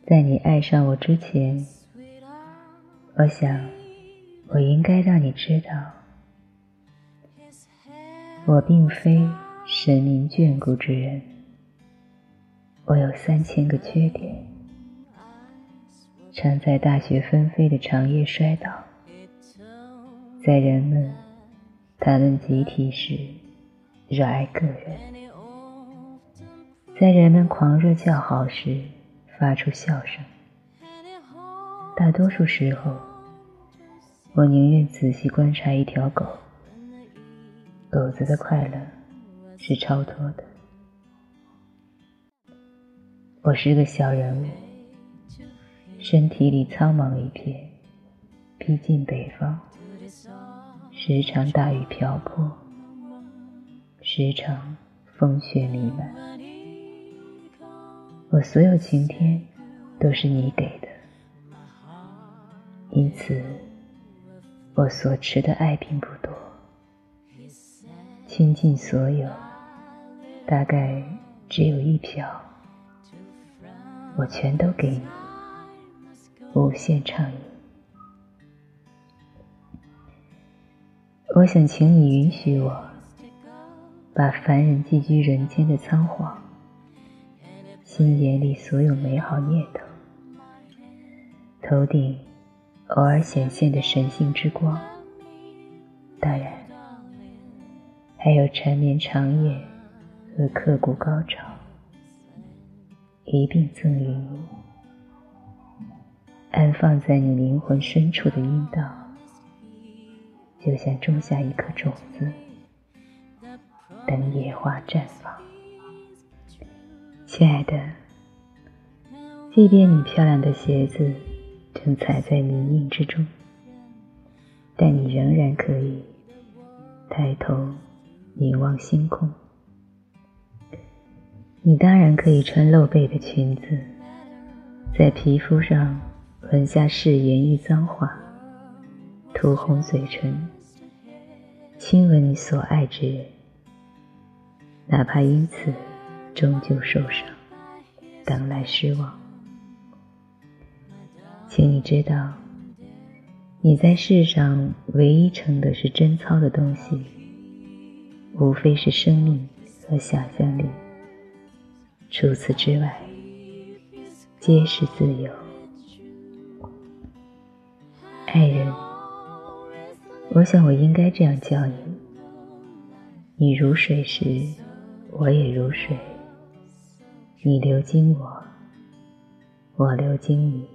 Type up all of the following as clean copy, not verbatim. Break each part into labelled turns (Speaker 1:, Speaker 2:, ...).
Speaker 1: 在你爱上我之前，我想我应该让你知道，我并非神明眷顾之人，我有3000个缺点，常在大雪纷飞的长夜摔倒，在人们谈论集体时热爱个人，在人们狂热叫好时发出笑声。大多数时候，我宁愿仔细观察一条狗，狗子的快乐是超脱的。我是个小人物，身体里苍茫一片，逼近北方，时常大雨瓢泼，时常风雪弥漫。我所有晴天都是你给的，因此我所持的爱并不多，倾尽所有，大概只有1瓢，我全都给你，无限畅饮。我想请你允许我把凡人寄居人间的仓皇，心眼里所有美好念头，头顶偶尔显现的神性之光，当然还有缠绵长夜和刻骨高潮，一并赠予你，安放在你灵魂深处的阴道，就像种下一颗种子，等野花绽放。亲爱的，即便你漂亮的鞋子正踩在泥泞之中，但你仍然可以抬头凝望星空。你当然可以穿露背的裙子，在皮肤上纹下誓言与脏话，涂红嘴唇，亲吻你所爱之人，哪怕因此终究受伤，等来失望。请你知道，你在世上唯一盛的是贞操的东西，无非是生命和想象力，除此之外皆是自由。爱人，我想我应该这样叫你，你如水时我也如水，你流经我，我流经你，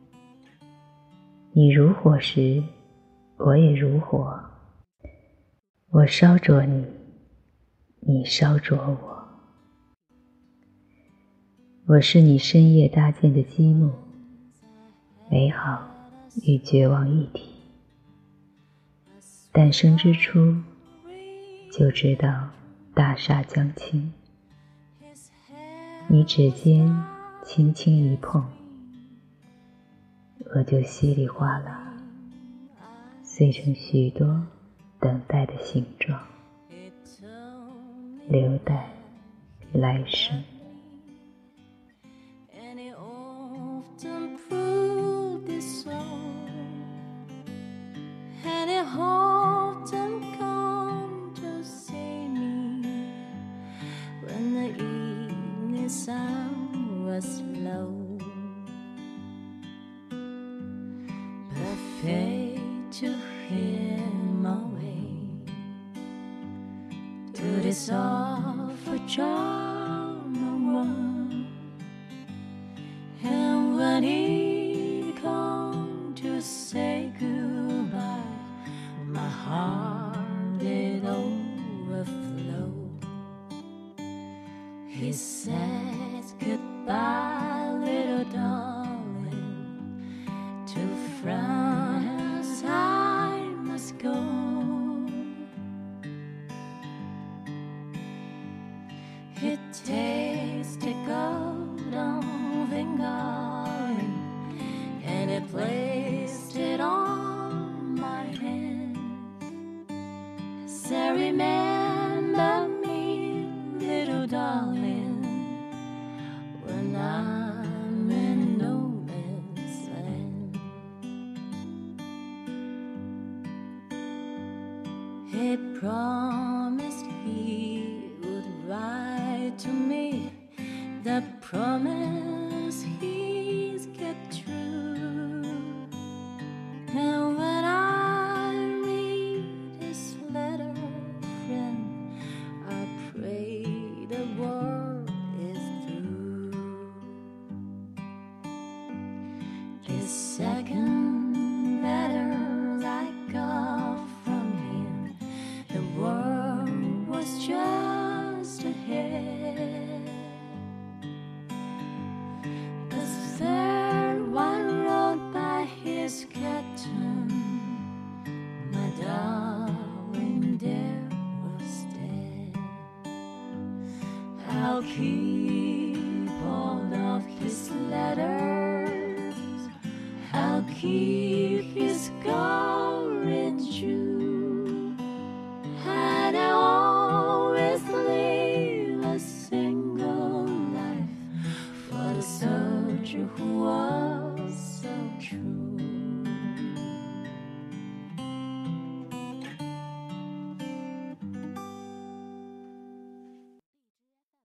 Speaker 1: 你如火时我也如火，我烧灼你，你烧灼我。我是你深夜搭建的积木，美好与绝望一体。诞生之初就知道大厦将倾，你指尖轻轻一碰，我就稀里哗啦碎成许多等待的形状，留待来生。
Speaker 2: Sun was low, perfect to him away to this awful charm one. And when he come to say goodbye, my heart did overflow. He said, goodbye, little darling, to France I must go. It takes the golden finger and it placed it on my hand. So remember me, little darling, when I'm in no He promised he would write to me. The promise he's kept true. And when I read his letter, friend, I pray the war is through. The second letter I got from him, the war was just ahead. The third one wrote by his captain, my darling there was dead. I'll keep all of his letters, I'll keep